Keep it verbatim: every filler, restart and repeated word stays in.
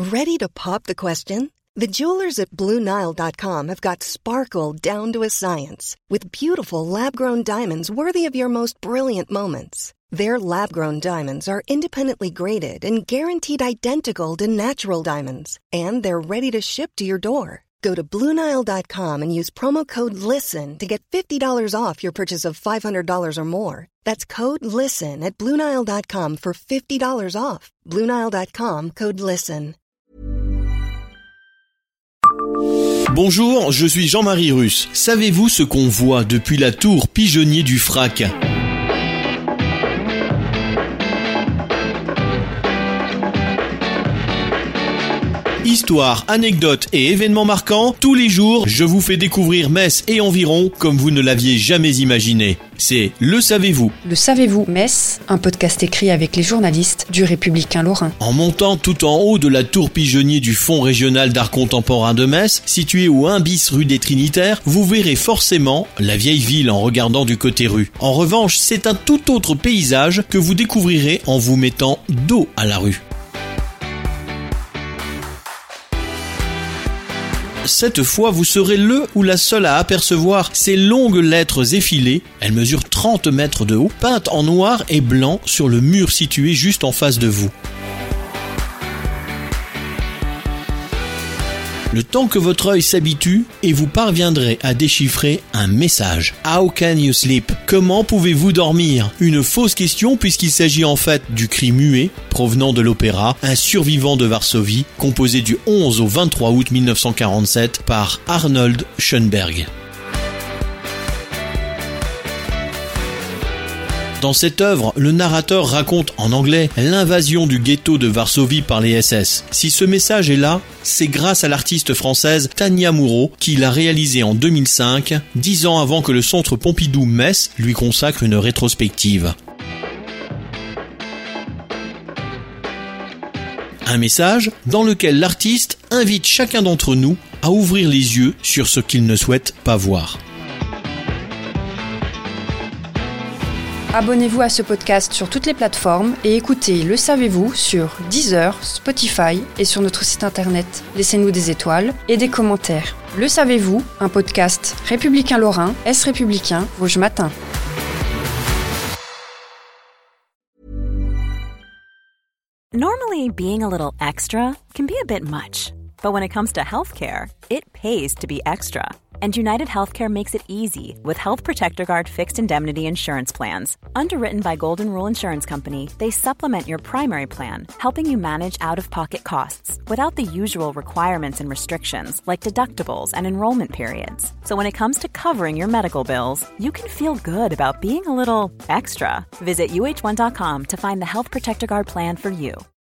Ready to pop the question? The jewelers at Blue Nile dot com have got sparkle down to a science with beautiful lab-grown diamonds worthy of your most brilliant moments. Their lab-grown diamonds are independently graded and guaranteed identical to natural diamonds, and they're ready to ship to your door. Go to Blue Nile dot com and use promo code LISTEN to get fifty dollars off your purchase of five hundred dollars or more. That's code LISTEN at Blue Nile dot com for fifty dollars off. Blue Nile dot com, code LISTEN. Bonjour, je suis Jean-Marie Russe. Savez-vous ce qu'on voit depuis la tour pigeonnier du Frac ? Histoire, anecdotes et événements marquants, tous les jours, je vous fais découvrir Metz et environ comme vous ne l'aviez jamais imaginé. C'est Le Savez-vous. Le Savez-vous Metz, un podcast écrit avec les journalistes du Républicain Lorrain. En montant tout en haut de la tour pigeonnier du Fonds régional d'art contemporain de Metz, situé au un bis rue des Trinitaires, vous verrez forcément la vieille ville en regardant du côté rue. En revanche, c'est un tout autre paysage que vous découvrirez en vous mettant dos à la rue. Cette fois, vous serez le ou la seule à apercevoir ces longues lettres effilées. Elles mesurent trente mètres de haut, peintes en noir et blanc sur le mur situé juste en face de vous. Le temps que votre œil s'habitue et vous parviendrez à déchiffrer un message. How can you sleep? Comment pouvez-vous dormir? Une fausse question puisqu'il s'agit en fait du cri muet provenant de l'opéra Un survivant de Varsovie, composé du onze au vingt-trois août mille neuf cent quarante-sept par Arnold Schoenberg. Dans cette œuvre, le narrateur raconte en anglais l'invasion du ghetto de Varsovie par les S S. Si ce message est là, c'est grâce à l'artiste française Tania Moreau qui l'a réalisé en deux mille cinq, dix ans avant que le Centre Pompidou Metz lui consacre une rétrospective. Un message dans lequel l'artiste invite chacun d'entre nous à ouvrir les yeux sur ce qu'il ne souhaite pas voir. Abonnez-vous à ce podcast sur toutes les plateformes et écoutez Le Savez-vous sur Deezer, Spotify et sur notre site internet. Laissez-nous des étoiles et des commentaires. Le Savez-vous, un podcast Républicain Lorrain, Est Républicain, Vosges Matin. Normally, being a little extra can be a bit much, but when it comes to healthcare, it pays to be extra. And United Healthcare makes it easy with Health Protector Guard fixed indemnity insurance plans. Underwritten by Golden Rule Insurance Company, they supplement your primary plan, helping you manage out-of-pocket costs without the usual requirements and restrictions like deductibles and enrollment periods. So when it comes to covering your medical bills, you can feel good about being a little extra. Visit U H one dot com to find the Health Protector Guard plan for you.